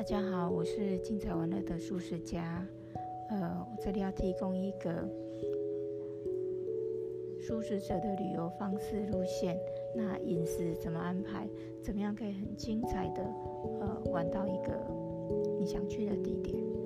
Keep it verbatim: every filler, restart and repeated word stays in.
家好，我是精彩玩乐的素食家。呃，我这里要提供一个素食者的旅游方式路线。那饮食怎么安排？怎么样可以很精彩的呃玩到一个你想去的地点？